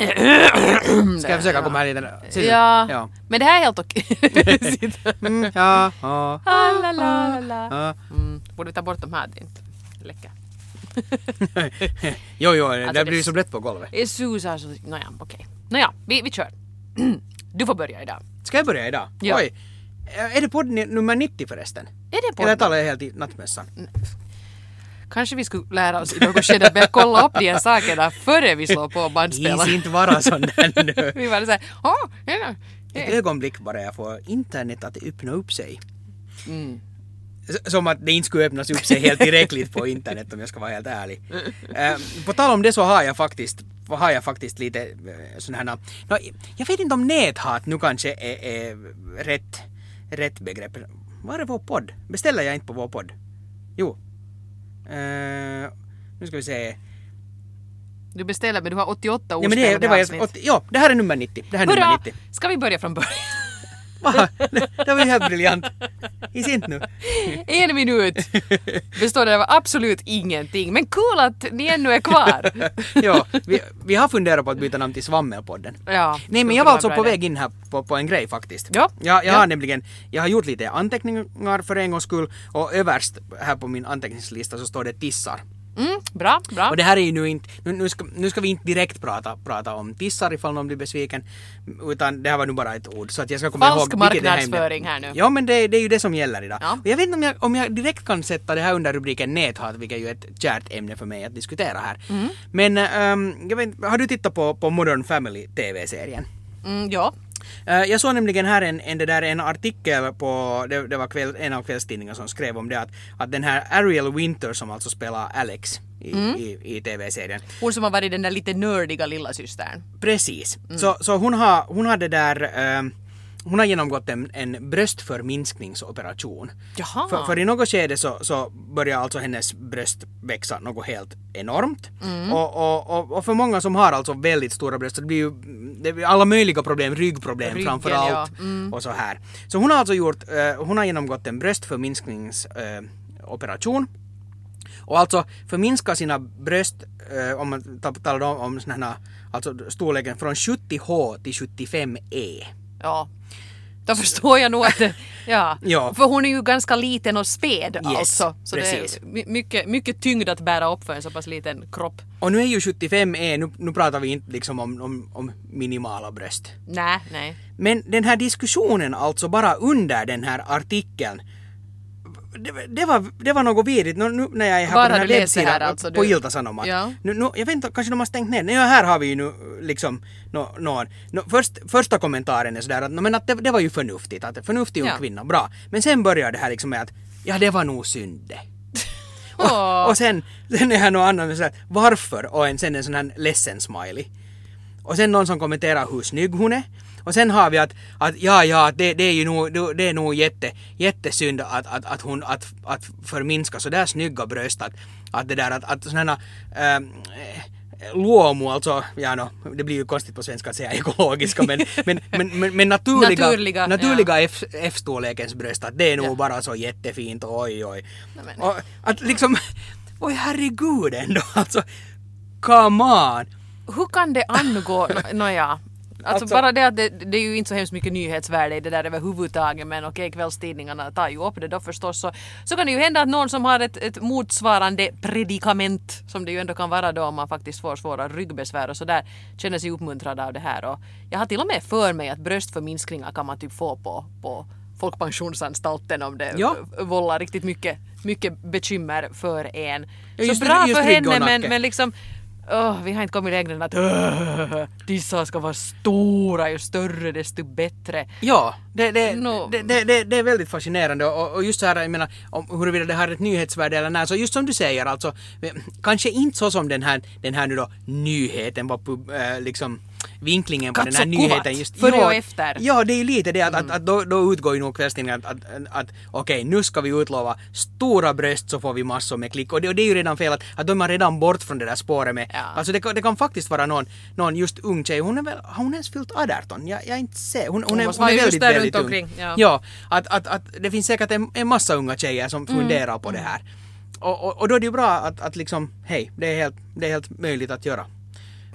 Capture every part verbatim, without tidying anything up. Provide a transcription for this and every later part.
Ska jag försöka komma här lite? Ja. ja, men det här är helt okej. mm, ja, ja. Ah, la, la, la. ja. Mm. Borde vi ta bort de här? Det är inte läcker. jo, jo, Alltså, det blir ju så brett på golvet. Det susar så... Nåja, okej. Okay. Nåja, vi, vi kör. Du får börja idag. Ska jag börja idag? Ja. Oj. Är det podd nummer nittio förresten? Är det podd? Eller talar jag helt i nattmässan? Kanske vi skulle lära oss i något skede att börja kolla upp de här sakerna före vi slår på bandspelaren. Gis inte vara sån där nu. Vi var så här, åh, ja, ja. Ett ögonblick bara jag får internet att öppna upp sig. Mm. Som att det inte skulle öppnas upp sig helt tillräckligt på internet om jag ska vara helt ärlig. Uh, på tal om det så har jag faktiskt har jag faktiskt lite uh, sådana här... No, jag vet inte om näthat nu kanske är, är rätt, rätt begrepp. Var är vår podd? Beställer jag inte på vår podd? Jo. Uh, nu ska vi se. Du beställer men du har åttioåtta ja, men det, det var jag, åt, ja, det här är nummer nittio. Det här är Hurra! nummer nittio. Ska vi börja från början? Va? Det, det var ju helt briljant. I sint nu. En minut består det av absolut ingenting. Men cool att ni ännu är kvar. ja, vi, vi har funderat på att byta namn till Svammelpodden. Ja, Nej, men jag var alltså på väg in här på, på en grej faktiskt. Ja. Jag, jag ja. har nämligen, jag har gjort lite anteckningar för en gångs skull och överst här på min anteckningslista så står det tissar. Mm, bra, bra. Och det här är ju nu inte, nu, nu, ska, nu ska vi inte direkt prata, prata om tissar ifall någon blir besviken, utan det här var nu bara ett ord så att jag ska komma Falsk ihåg marknadsföring här nu. Ja, men det, det är ju det som gäller idag. Ja. Och jag vet inte om jag, om jag direkt kan sätta det här under rubriken näthat, vilket är ju ett kärt ämne för mig att diskutera här. Mm. Men um, jag vet, har du tittat på, på Modern Family T V-serien? Mm, ja. Uh, jag såg nämligen här en, en, det där, en artikel på, det, det var kväll, en av kvällstidningarna som skrev om det att, att den här Ariel Winter som alltså spelar Alex i, mm. i, i T V-serien. Hon som har varit den där lite nördiga lilla systern. Precis. Mm. Så, så hon har, hon har det där, uh, hon har genomgått en, en bröstförminskningsoperation. Jaha. För, för i något skede så, så börjar alltså hennes bröst växa något helt enormt. Mm. Och, och, och, och för många som har alltså väldigt stora bröst så det blir ju det blir alla möjliga problem, ryggproblem Ryggen, framförallt ja. mm. och så här. Så hon har alltså gjort, uh, hon har genomgått en bröstförminskningsoperation. Uh, och alltså förminska sina bröst, uh, om man talar om, om såna här, alltså storleken från sjuttio H till sjuttiofem E. Ja. Då förstår jag nog att det, ja. ja. För hon är ju ganska liten och späd yes, alltså. Så precis. det är mycket, mycket tyngd att bära upp för en så pass liten kropp. Och nu är ju sjuttiofem E, nu, nu pratar vi inte liksom om, om, om minimala bröst. Nej, nej. Men den här diskussionen alltså bara under den här artikeln, det, det, var, det var något virrigt. Nu, nu när jag är här bara på den här webbsidan här, alltså, på du... Ilta-Sanomat. Ja. Nu, nu, jag vet inte, kanske de har stängt ner. Nej, här har vi ju nu liksom no, någon. No, först, första kommentaren är sådär att, no, men att det, det var ju förnuftigt. Att förnuftig ung ja. kvinna, bra. Men sen börjar det här liksom med att ja, det var nog synd det. och, och sen, sen är här någon annan med sådär, varför? Och en, sen en sån här ledsen smiley. Och sen någon som kommenterar hur snygg hon är. Och sen har vi att, att ja, ja, det, det är ju nog, det är nog jätte, jättesynd att, att, att hon att, att förminska så där snygga bröst att, att det där att, att sådana äh, luomu, alltså, ja no, det blir ju konstigt på svenska att säga ekologiska, men, men, men, men, men naturliga, naturliga, naturliga ja. F, F-storlekens bröst, att det är nog ja. bara så jättefint, oj oj. Nej, och att liksom, oj herregud ändå, alltså, come on. Hur kan det angå, nåja. Alltså, alltså bara det att det, det är ju inte så hemskt mycket nyhetsvärde i det där överhuvudtaget, men okej, okay, kvällstidningarna tar ju upp det då förstås, så, så kan det ju hända att någon som har ett, ett motsvarande predikament, som det ju ändå kan vara då om man faktiskt får svåra ryggbesvär och sådär, känner sig uppmuntrad av det här. Och jag har till och med för mig att bröstförminskningar kan man typ få på, på folkpensionsanstalten om det ja. vållar riktigt mycket, mycket bekymmer för en. Ja, så bra det, för henne, men, men liksom Oh, vi har inte kommit längre än att uh, dessa ska vara stora, ju större desto bättre. Ja, det, det, no. det, det, det, det är väldigt fascinerande och, och just så här, jag menar, om huruvida det har ett nyhetsvärde eller nej, så just som du säger, alltså, kanske inte så som den här, den här nu då nyheten var äh, liksom vinklingen på Katso den här nyheten just före ja, och efter. Ja, det är ju lite det att, mm. att, att då, då utgår ju nog kvällstidningen att, att, att, att okej, okay, nu ska vi utlova stora bröst så får vi massor med klick och det, och det är ju redan fel att, att de är redan bort från det där spåret med, ja. alltså det, det kan faktiskt vara någon, någon just ung tjej, hon är väl, har hon ens fyllt arton? Jag, jag inte ser, hon, hon, hon är, hon är väldigt, väldigt ung. Omkring, ja, ja att, att, att det finns säkert en, en massa unga tjejer som mm. funderar på det här. Och, och, och då är det ju bra att, att liksom, hej, det är helt, det är helt möjligt att göra.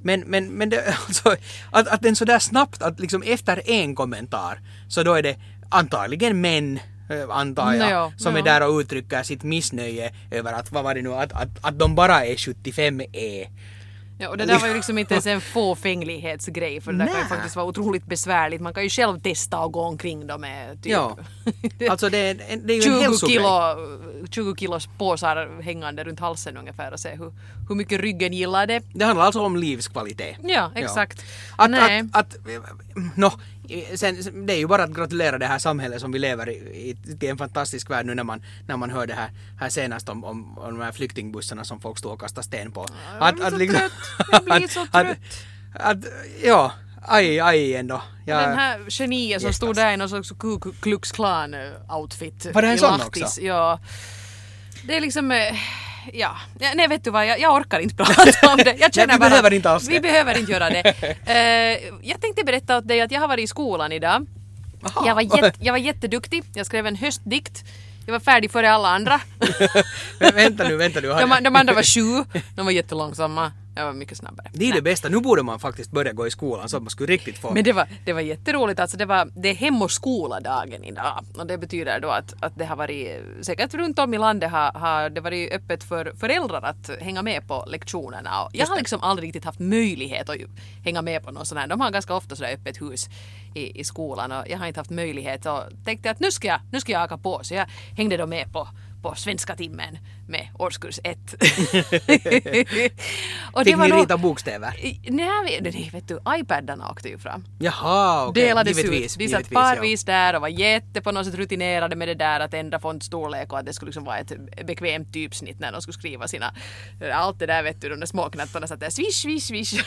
Men, men, men det, alltså, att, att den så där snabbt, att liksom efter en kommentar så då är det antagligen män, antar jag, no, som no. är där och uttrycker sitt missnöje över att, vad var det nu, att, att, att de bara är sjuttiofem E. Ja, och det där var ju liksom inte ens en fåfänglighetsgrej, för det där kan ju faktiskt vara otroligt besvärligt. Man kan ju själv testa och gå omkring dem med typ ja. Alltså det, det är ju en tjugo hälsogrej. kilo, tjugo kilos påsar hängande runt halsen ungefär och se hur, hur mycket ryggen gillar det. Det handlar alltså om livskvalitet. Ja, exakt. Ja. Att, Nej. att, att, no, sen, det är ju bara att gratulera det här samhället som vi lever i, i till en fantastisk värld nu när man, när man hör det här, här senast om, om, om de här flyktingbussarna som folk stod och kastade sten på. Jag blir så trött. Jag blir så trött. Att, att, ja, aj, aj ändå. Jag, den här geniet som stod där i någon slags Ku Klux Klan-outfit. Var det en i sån Lahtis. också? Ja. Det är liksom... Ja, nej vet du vad, jag, jag orkar inte prata om det. Jag känner nej, vi bara, behöver inte alls det. Vi behöver inte göra det. Uh, jag tänkte berätta åt dig att jag har varit i skolan idag. Jag var, jätt, jag var jätteduktig. Jag skrev en höstdikt. Jag var färdig före alla andra. Men vänta nu, vänta nu. De, de andra var sju. De var jättelångsamma. Jag var mycket snabbare. Det är det bästa. Nu borde man faktiskt börja gå i skolan så att man skulle riktigt få... Men det var, det var jätteroligt. Alltså det, var, det är hem- och skoladagen idag. Och det betyder då att, att det har varit... Säkert runt om i landet har, har det varit öppet för föräldrar att hänga med på lektionerna. Och jag har liksom aldrig riktigt haft möjlighet att hänga med på någon sån här. De har ganska ofta sådär öppet hus i, i skolan. Och jag har inte haft möjlighet. Och tänkte att nu ska jag, nu ska jag haka på. Så jag hängde då med på... på svenska timmen med årskurs ett. och Fick det var ni då, rita bokstäver? Nej, nej, vet du, iPadarna åkte ju fram. Jaha, okej. Delades Givetvis, ut. De satt givetvis, parvis ja. där och var jätte på något sätt rutinerade med det där att ändra fontstorlek och att det skulle liksom vara ett bekvämt typsnitt när de skulle skriva sina... Allt det där, vet du, de där småknattarna satt där swish, swish, swish.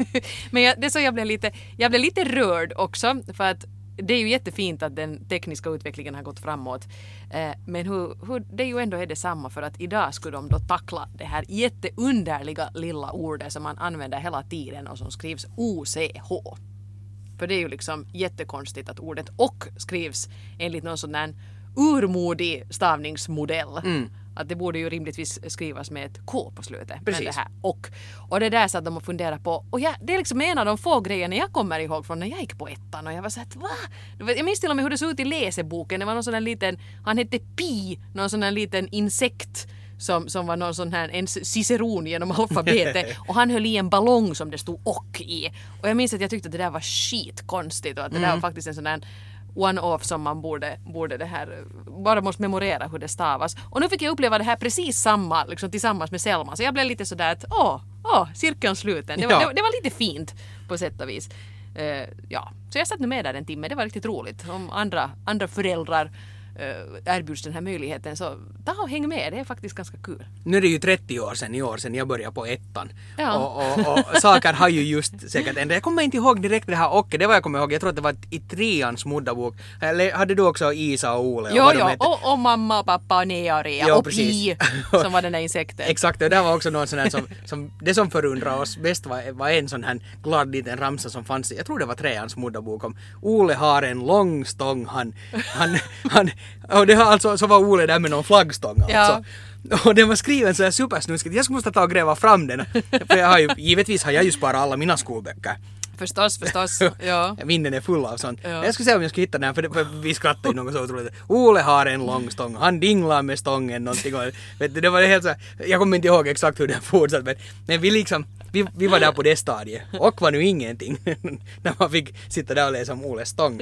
Men jag, det så jag blev lite, jag blev lite rörd också för att det är ju jättefint att den tekniska utvecklingen har gått framåt. Eh, men hur, hur det ju ändå är detsamma för att idag skulle de då tackla det här jätteunderliga lilla ordet som man använder hela tiden och som skrivs O C H. För det är ju liksom jättekonstigt att ordet och skrivs enligt någon sån där urmodig stavningsmodell. Mm. Att det borde ju rimligtvis skrivas med ett K på slutet. Precis. Men det här och. Och det där så att de har funderat på. Och jag, det är liksom en av de få grejerna jag kommer ihåg från när jag gick på ettan. Och jag var så att va? Jag minns till och med hur det såg ut i läseboken. Det var någon sån där liten, han hette Pi. Någon sån där liten insekt. Som, som var någon sån här, en ciceron genom alfabetet. Och han höll i en ballong som det stod och i. Och jag minns att jag tyckte att det där var skitkonstigt. Och att det mm. där var faktiskt en sån där one-off som man borde, borde det här, bara måste memorera hur det stavas. Och nu fick jag uppleva det här precis samma, liksom tillsammans med Selma. Så jag blev lite sådär att, åh, åh, cirkeln sluten. Det var, ja. det, det var lite fint på sätt och vis. Uh, ja, så jag satt nu med där en timme. Det var riktigt roligt. Om andra, andra föräldrar uh, erbjuds den här möjligheten så ta och häng med. Det är faktiskt ganska kul. Nu är det ju trettio år sedan i år sedan jag började på ettan. Ja. Och, och, och saker har ju just säkert ändrat. Jag kommer inte ihåg direkt det här och det var jag kommer ihåg. Jag tror att det var i treans moddabok. Eller hade du också Isa och Ole? Jo, och jo. Och, och mamma och pappa och Nea och Rea. Jo, och precis. Pi som var den där insekten. Exakt, och det var också någon sån här som, som det som förundrar oss bäst var, var en sån här glad liten ramsa som fanns i, jag tror det var treans moddabok om Ole har en lång stång, han, han, han och det har alltså, så var Ole där med någon flaggstång alltså. Ja. Och den var skriven så här supersnuskigt. Jag måste ta och gräva fram den. För jag har ju, givetvis har jag ju sparat alla mina skolböcker. Förstås, förstås. Ja. Vinden är full av sånt. Ja. Jag skulle se om jag skulle hitta den, för, det, för vi skrattade ju något så otroligt. Ole har en lång stång, han dinglar med stången någonting. Och, vet du, det var helt så, jag kommer inte ihåg exakt hur den fortsatte, men, men vi liksom, vi, vi var där på det stadiet. Och var nu ingenting. När man fick sitta där och läsa om Oles stång.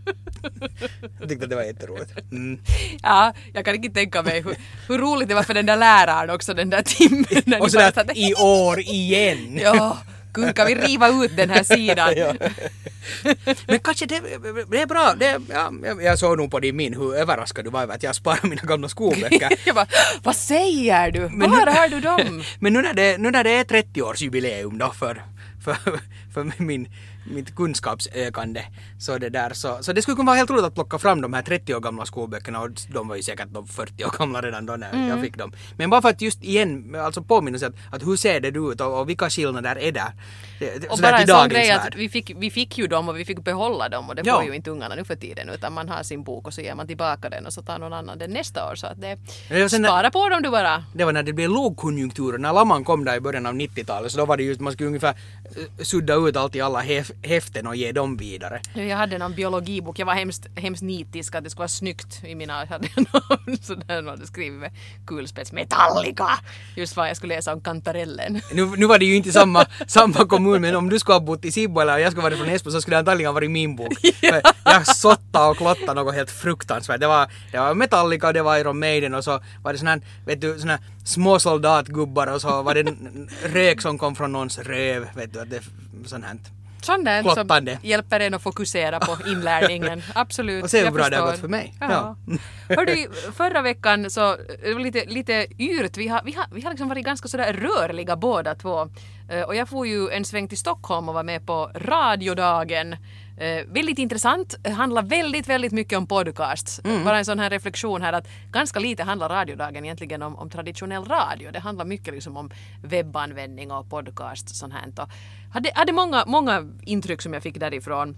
Jag tyckte att det var jätteroligt. Mm. Ja, jag kan inte tänka mig hur, hur roligt det var för den där läraren också, den där timmen. Och sådär att i år igen. Ja. Gud, kan vi riva ut den här sidan? Ja. Men kanske det, det är bra. Det, ja, jag såg nog på din min hur överraskad du var över att jag sparar mina gamla skolböcker. Jag bara, vad säger du? Men var har du dem? Men nu när det, nu när det är trettio-årsjubileum då för, för, för min, mitt kunskapsökande så det där så, så det skulle kunna vara helt roligt att plocka fram de här trettio år gamla skolböckerna och de var ju säkert de fyrtio år gamla redan då när mm. jag fick dem. Men bara för att just igen alltså påminna sig att, att hur ser det ut och, och vilka skillnader är där? Det, och bara en sån grej att vi fick, vi fick ju dem och vi fick behålla dem och det får ja. ju inte ungarna nu för tiden utan man har sin bok och så ger man tillbaka den och så tar någon annan den nästa år så att det, det spara när, på dem du bara. Det var när det blev lågkonjunktur när lamman kom där i början av nittiotalet så då var det just man skulle ungefär sudda ut allt i alla hef, häften och ge dem vidare. Jag hade någon biologibok, jag var hemskt, hemskt nitisk att det skulle vara snyggt i mina, jag hade någon sådär någon hade skrivit med kulspets Metallica, just vad jag skulle läsa om kantarellen. Nu, nu var det ju inte samma, samma kommun, men om du skulle ha bott i Sibbo eller jag skulle vara från Esbo så skulle det antagligen varit min bok. Ja. Jag sottade och klottade något helt fruktansvärt. Det var, det var Metallica, det var Iron Maiden och så var det sån här, vet du, sån här små soldatgubbar och så var det rök som kom från någons röv, vet du, att det sånt här. Sånt där Klottande. som hjälper en att fokusera på inlärningen. Absolut. Och se hur bra det har gått för mig. Ja. Ja. Hörde, förra veckan så det var lite, lite yrt. Vi har, vi har, vi har liksom varit ganska sådär rörliga båda två. Uh, och jag får ju en sväng till Stockholm och var med på radiodagen. Uh, väldigt intressant. Det handlar väldigt, väldigt mycket om podcasts. Mm. Bara en sån här reflektion här att ganska lite handlar radiodagen egentligen om, om traditionell radio. Det handlar mycket liksom om webbanvändning och podcast. Sånt här. Och hade, hade många, många intryck som jag fick därifrån.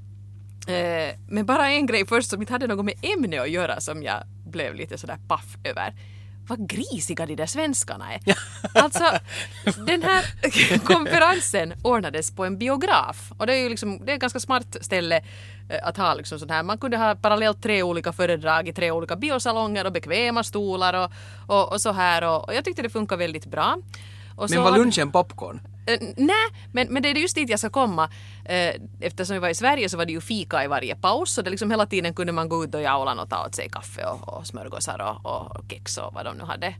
Uh, men bara en grej först som inte hade något med ämne att göra som jag blev lite sådär paff över. Vad grisiga de där svenskarna är. Alltså, den här konferensen ordnades på en biograf. Och det är ju liksom, det är ett ganska smart ställe att ha liksom sån här. Man kunde ha parallellt tre olika föredrag i tre olika biosalonger och bekväma stolar och, och, och så här. Och, och jag tyckte det funkar väldigt bra. Och men så var lunchen popcorn? Uh, nej, men, men det är just dit jag ska komma. Uh, eftersom vi var i Sverige så var det ju fika i varje paus. Så det liksom hela tiden kunde man gå ut och jaulan och ta åt sig kaffe och, och smörgåsar och, och kex och vad de nu hade.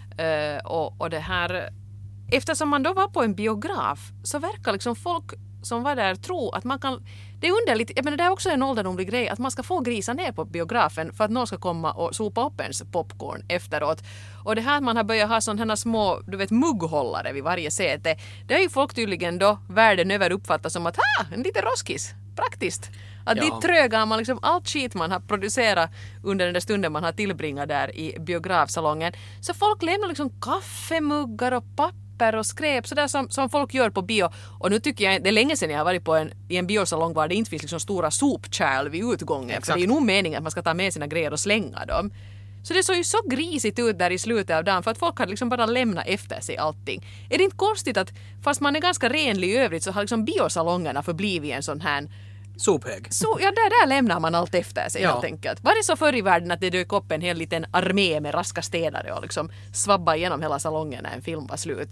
Uh, och, och det här... Eftersom man då var på en biograf så verkar liksom folk som var där tro att man kan... Det är underligt, jag menar det är också en ålderdomlig grej att man ska få grisa ner på biografen för att någon ska komma och sopa upp ens popcorn efteråt. Och det här att man har börjat ha sådana små, du vet, mugghållare vid varje säte, det är ju folk tydligen då världen över uppfattat som att ha, en liten roskis, praktiskt. Att ja. Dit trögar man liksom allt skit man har producerat under den där stunden man har tillbringat där i biografsalongen. Så folk lämnar liksom kaffemuggar och papper och skräp sådär som, som folk gör på bio. Och nu tycker jag, det är länge sedan jag har varit på en, i en biosalong var det inte finns liksom stora sopkärl vid utgången. Exakt. För det är ju nog meningen att man ska ta med sina grejer och slänga dem. Så det såg ju så grisigt ut där i slutet av dagen för att folk hade liksom bara lämnat efter sig allting. Är det inte konstigt att fast man är ganska renlig i övrigt så har liksom biosalongerna förblivit en sån här sophög. Så, ja, där, där lämnar man allt efter sig ja. Helt enkelt. Var det så förr i världen att det dök upp en hel liten armé med raska städare och liksom svabba igenom hela salongen när en film var slut?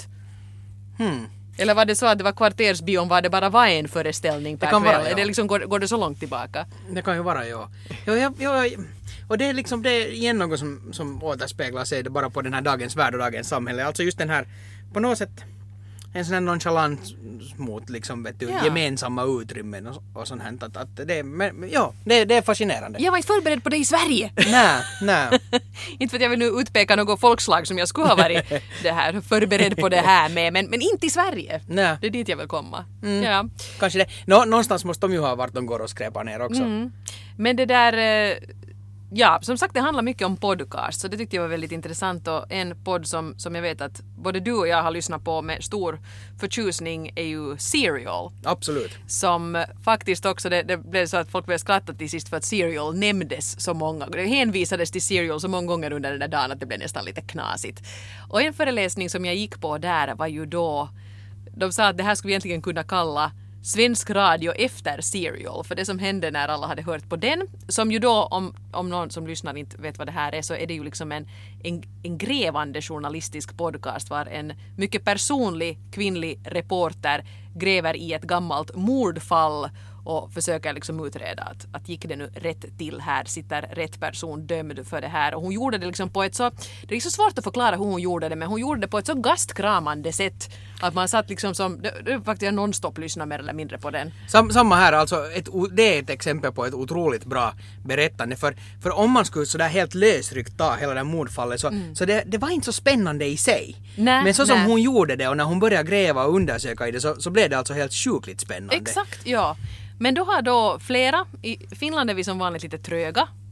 Hmm. Eller var det så att det var kvartersbion var det bara var en föreställning per det kan kväll? vara, ja. Är det liksom, går, går det så långt tillbaka? Det kan ju vara, ja. ja, ja, ja och det är liksom det är igen något som, som återspeglar sig det bara på den här dagens värld och dagens samhälle. Alltså just den här, på något sätt, en sån här nonchalans mot liksom, vet du, ja. Gemensamma utrymmen och, och sånt här. Att, att det, men, ja, det, det är fascinerande. Jag var inte förberedd på det i Sverige. Nej, nej. Inte för att jag vill nu utpeka något folkslag som jag skulle ha varit det här, förberedd på det här med, men, men inte i Sverige. Nej. Det är dit jag vill komma. Mm. Ja. Kanske det. Nå, någonstans måste de ju ha varit de går och skräpar ner också. Mm. Men det där... Ja, som sagt det handlar mycket om podcast så det tyckte jag var väldigt intressant och en podd som, som jag vet att både du och jag har lyssnat på med stor förtjusning är ju Serial. Absolut. Som faktiskt också, det, det blev så att folk började skratta till sist för att Serial nämndes så många, det hänvisades till Serial så många gånger under den där dagen att det blev nästan lite knasigt. Och en föreläsning som jag gick på där var ju då, de sa att det här skulle vi egentligen kunna kalla svensk radio efter Serial, för det som hände när alla hade hört på den, som ju då, om, om någon som lyssnar inte vet vad det här är, så är det ju liksom en, en, en grävande journalistisk podcast var en mycket personlig kvinnlig reporter gräver i ett gammalt mordfall och försöker liksom utreda att, att gick det nu rätt till här, sitter rätt person dömd för det här. Och hon gjorde det liksom på ett så, det är så svårt att förklara hur hon gjorde det, men hon gjorde det på ett så gastkramande sätt att man satt liksom som, det, det faktiskt jag nonstop lyssna mer eller mindre på den. Sam, samma här, alltså ett, det är ett exempel på ett otroligt bra berättande, för, för om man skulle sådär helt lösryckt ta hela det här mordfallet så, mm. så det, det var inte så spännande i sig. Nä, men så som nä. hon gjorde det och när hon började gräva och undersöka i det så, så blev det alltså helt sjukligt spännande. Exakt, ja. Men då har då flera, i Finland är vi som vanligt lite tröga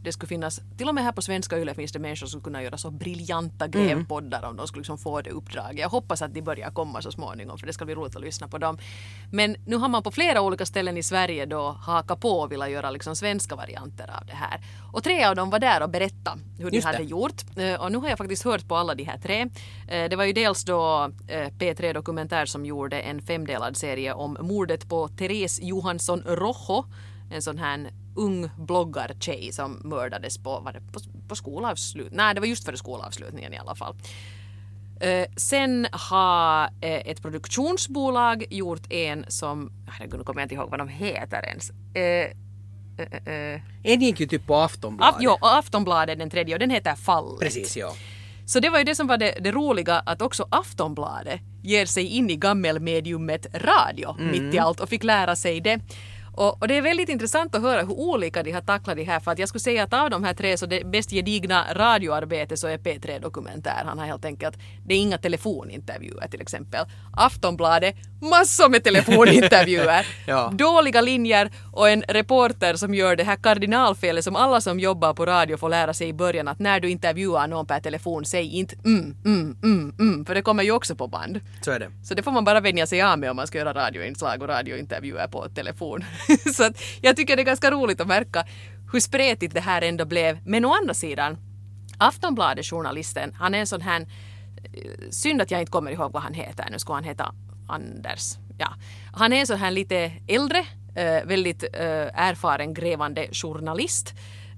det skulle finnas, till och med här på Svenska Yle finns det människor som kunna göra så briljanta grävpoddar mm. om de skulle liksom få det uppdraget. Jag hoppas att de börjar komma så småningom för det ska bli roligt att lyssna på dem. Men nu har man på flera olika ställen i Sverige då hakat på och vilja göra liksom svenska varianter av det här. Och tre av dem var där och berätta hur de hade gjort. Och nu har jag faktiskt hört på alla de här tre. Det var ju dels då P tre Dokumentär som gjorde en femdelad serie om mordet på Therese Johansson Rojo, en sån här ung bloggartjej som mördades på, var det på, på skolavslut. Nej, det var just före skolavslutningen i alla fall. Eh, sen har eh, ett produktionsbolag gjort en som, nu kommer jag inte ihåg vad de heter ens. Eh, eh, eh. En gick ju typ på Aftonbladet. Af, jo, Aftonbladet den tredje och den heter Fallet. Precis, ja. Så det var ju det som var det, det roliga, att också Aftonbladet ger sig in i gammelmediumet radio mm. mitt i allt och fick lära sig det. Och, och det är väldigt intressant att höra hur olika de har tacklat det här, för att jag skulle säga att av de här tre så det bäst gedigna radioarbete så är P tre Dokumentär. Han har helt enkelt, det är inga telefonintervjuer till exempel. Aftonbladet, massor med telefonintervjuer. ja. Dåliga linjer och en reporter som gör det här kardinalfelet som alla som jobbar på radio får lära sig i början, att när du intervjuar någon per telefon, säg inte mm, mm, mm, mm, för det kommer ju också på band. Så är det. Så det får man bara vänja sig av med om man ska göra radioinslag och radiointervjuer på telefon. Så att jag tycker det är ganska roligt att märka hur spretigt det här ändå blev. Men å andra sidan, Aftonbladet-journalisten, han är en sån här, synd att jag inte kommer ihåg vad han heter, nu ska han heta Anders. Ja. Han är en sån här lite äldre, väldigt erfaren grävande journalist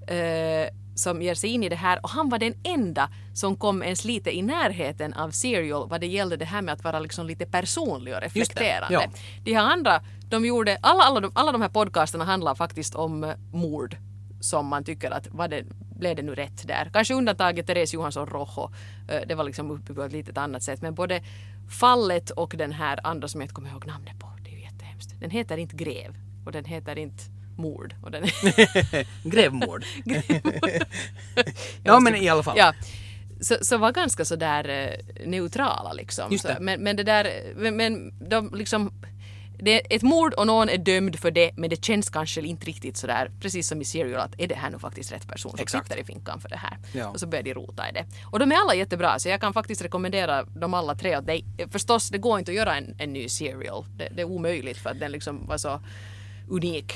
som ger sig in i det här, och han var den enda som kom ens lite i närheten av Serial vad det gällde det här med att vara liksom lite personlig och reflekterande. Ja. De här andra, de gjorde, alla, alla, de, alla de här podcasterna handlar faktiskt om mord som man tycker att vad det, blev det nu rätt där. Kanske undantaget Therese Johansson Rojo, det var liksom uppe på ett litet annat sätt, men både Fallet och den här andra som jag inte kommer ihåg namnet på, det är ju jättehemskt. Den heter inte Gräv och den heter inte mord. Och den Grävmord. ja, men i alla fall. Ja. Så, så var ganska så där uh, neutrala liksom. Just det. Så, men, men det där, men, men de liksom, det är ett mord och någon är dömd för det, men det känns kanske inte riktigt så där, precis som i Serial, att är det här nu faktiskt rätt person som Exakt. sitter i finkan för det här. Ja. Och så börjar de rota i det. Och de är alla jättebra, så jag kan faktiskt rekommendera dem alla tre. Och det, förstås, det går inte att göra en, en ny Serial. Det, det är omöjligt för att den liksom var så unik.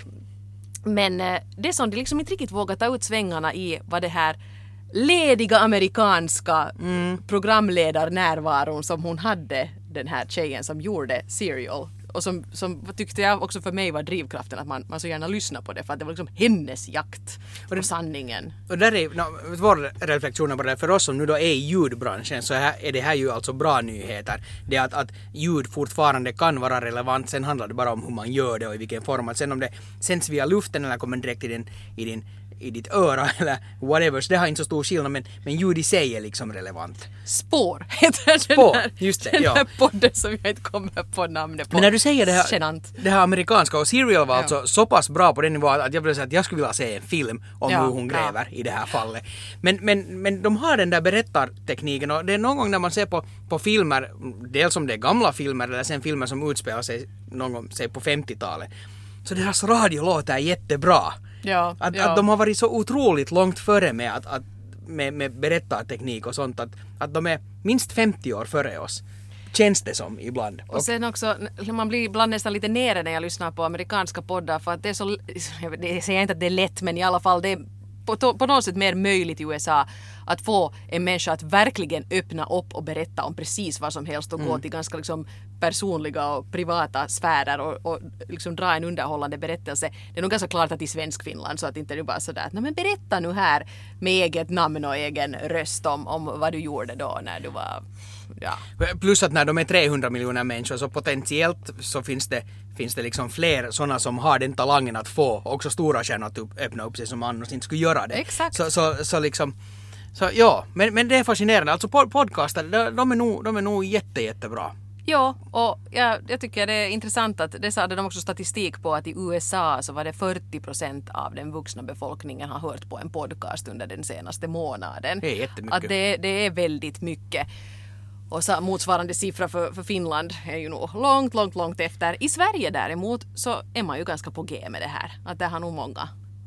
Men eh, det som de liksom inte riktigt vågar ta ut svängarna i var det här lediga amerikanska mm. programledarnärvaron som hon hade, den här tjejen som gjorde Serial. Och som, som tyckte jag också för mig var drivkraften att man, man så gärna lyssnar på det, för att det var liksom hennes jakt på det, sanningen. Och där är no, vår reflektion på det, för oss som nu då är i ljudbranschen, så här, är det här ju alltså bra nyheter. Det är att, att ljud fortfarande kan vara relevant, sen handlar det bara om hur man gör det och i vilken form. Att sen om det sänds via luften eller kommer direkt i din, i din i ditt öra eller whatever, så det har inte så stor skillnad, men, men ljud i sig är liksom relevant. Spår heter Spår, den här, just det, den ja. här podden som jag inte kommer på namnet på. Men när du säger det här, Genant. det här amerikanska, och Serial var ja. alltså så pass bra på den nivån att jag vill säga att jag skulle vilja se en film om ja, hur hon gräver ja. i det här fallet. Men, men, men de har den där berättartekniken, och det är någon gång när man ser på, på filmer, dels om det är gamla filmer eller sen filmer som utspelar sig någon gång, säg på femtiotalet, så deras radio låter jättebra. Ja, att, ja. att de har varit så otroligt långt före med, att, att, med, med berättarteknik och sånt, att, att de är minst femtio år före oss. Känns det som ibland. Och sen också, man blir ibland nästan lite nere när jag lyssnar på amerikanska poddar, för att det är så, jag säger inte att det är lätt, men i alla fall det är på, på något sätt mer möjligt i U S A att få en människa att verkligen öppna upp och berätta om precis vad som helst och mm. gå till ganska liksom personliga och privata sfärer och, och liksom dra en underhållande berättelse. Det är nog ganska klart att i svensk Finland, så att inte det bara sådär att men berätta nu här med eget namn och egen röst om, om vad du gjorde då när du var... Ja. Plus att när de är trehundra miljoner människor, så potentiellt så finns det, finns det liksom fler sådana som har den talangen att få också stora stjärnor att upp, öppna upp sig som annars inte skulle göra det. Exakt. Så, så, så liksom, så ja, men, men det är fascinerande. Alltså podcaster, de, de är nog, de är nog jätte, jättebra. Ja, och jag, jag tycker det är intressant att det hade de också statistik på att i U S A så var det fyrtio procent av den vuxna befolkningen har hört på en podcast under den senaste månaden. Det är jättemycket. Att det, det är väldigt mycket. Och så motsvarande siffra för, för Finland är ju nog långt, långt, långt efter. I Sverige däremot så är man ju ganska på G med det här. Att det har nog många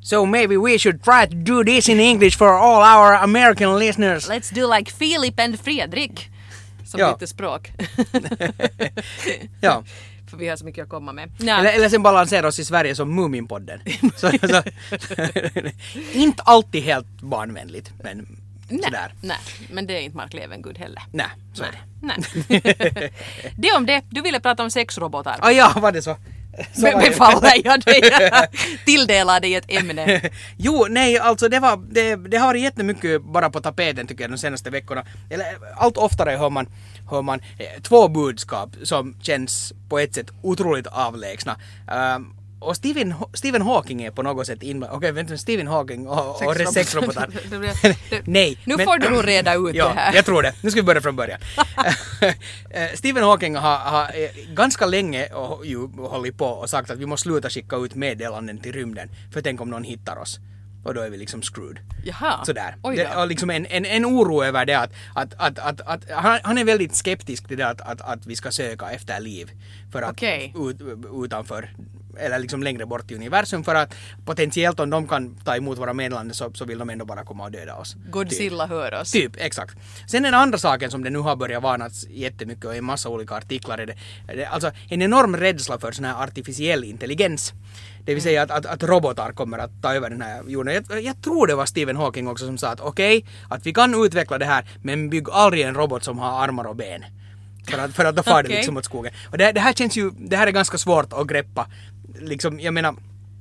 So maybe we should try to do this in English for all our American listeners. Let's do like Filip and Fredrik. Som Ja. lite språk. Ja. För vi har så mycket att komma med. Ja. Eller, eller sen balansera oss i Sverige som Muminpodden. så, så, inte alltid helt barnvänligt, men nej, sådär. nej, men det är inte Mark Levengood heller. Nej, så är det. Nej. Det om det. Du ville prata om sexrobotar. Ah, ja, var det så? så Be- var det. befaller jag dig. Tilldelar dig ett ämne. Jo, nej, alltså det, var, det, det har varit jättemycket bara på tapeten tycker jag de senaste veckorna. Eller allt oftare hör man, hör man eh, två budskap som känns på ett sätt otroligt avlägsna. Um, och Stephen, Stephen Hawking är på något sätt inblandad. Okej, vänta, Stephen Hawking och, och sexrobotar. Nej. Nu men, får du nog reda ut ja, det här. jag tror det. Nu ska vi börja från början. Stephen Hawking har, har ganska länge och, ju, hållit på och sagt att vi måste sluta skicka ut meddelanden till rymden. För tänk om någon hittar oss. Och då är vi liksom screwed. Jaha. Sådär. Oj då. Det, och liksom en, en, en oro över det att, att, att, att, att han, han är väldigt skeptisk till det att, att, att vi ska söka efter liv. För att Okej. ut, utanför eller liksom längre bort i universum för att potentiellt om de kan ta emot våra meddelanden så, så vill de ändå bara komma och döda oss. Godzilla typ. Hör oss. Typ, exakt. Sen den andra saken som det nu har börjat varnats jättemycket och i en massa olika artiklar är det, det alltså en enorm rädsla för sån här artificiell intelligens. Det vill säga att, att, att robotar kommer att ta över den här jorden. Jag, jag tror det var Stephen Hawking också som sa att okej, okay, att vi kan utveckla det här men bygg aldrig en robot som har armar och ben. För att, för att då far det Okay. liksom åt skogen. Och det, det här känns ju, det här är ganska svårt att greppa. Liksom, jag menar,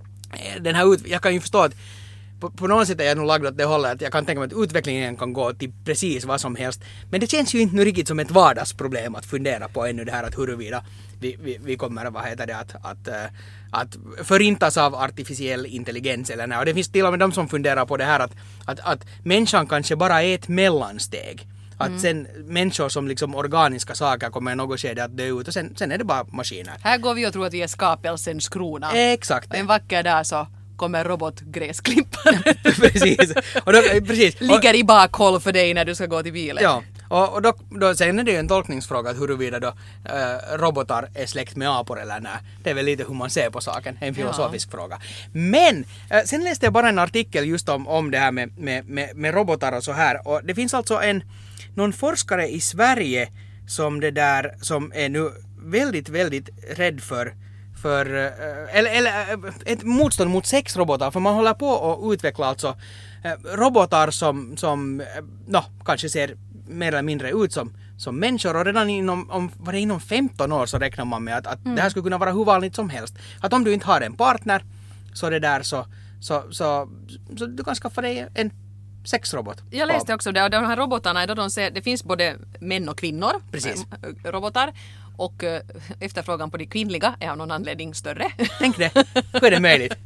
den här ut, jag kan ju förstå att på, på något sätt är jag nog lagd åt det hållet att jag kan tänka mig att utvecklingen kan gå till precis vad som helst. Men det känns ju inte nu riktigt som ett vardagsproblem att fundera på ännu det här att huruvida vi, vi, vi kommer, vad heter det, att, att, äh, att förintas av artificiell intelligens eller nej. Och det finns till och med de som funderar på det här att, att, att människan kanske bara är ett mellansteg. Att mm. sen människor som liksom organiska saker kommer i något skede att dö ut och sen, sen är det bara maskiner. Här går vi och tror att vi är skapelsens krona. Exakt. Och en vacker dag så kommer robotgräsklippare. precis. Och då, precis. Ligger i bakhåll för dig när du ska gå till bilen. Ja, och, och då, då sen är det ju en tolkningsfråga att huruvida då äh, robotar är släkt med apor eller nej. Det är väl lite hur man ser på saken, en filosofisk ja. fråga. Men äh, sen läste jag bara en artikel just om, om det här med, med, med, med robotar och så här. Och det finns alltså en någon forskare i Sverige som det där som är nu väldigt, väldigt rädd för för eller, eller ett motstånd mot sexrobotar för man håller på att utveckla alltså robotar som som no, kanske ser mer eller mindre ut som som människor och redan inom om var det inom femton år så räknar man med att, att mm. det här skulle kunna vara hur vanligt som helst. Att om du inte har en partner så det där så så så, så du kan skaffa dig en sexrobot. Jag läste också det och de här robotarna då de ser, det finns både män och kvinnor. Precis. Robotar och uh, efterfrågan på de kvinnliga är av någon anledning större. Tänk det. Hur är det möjligt?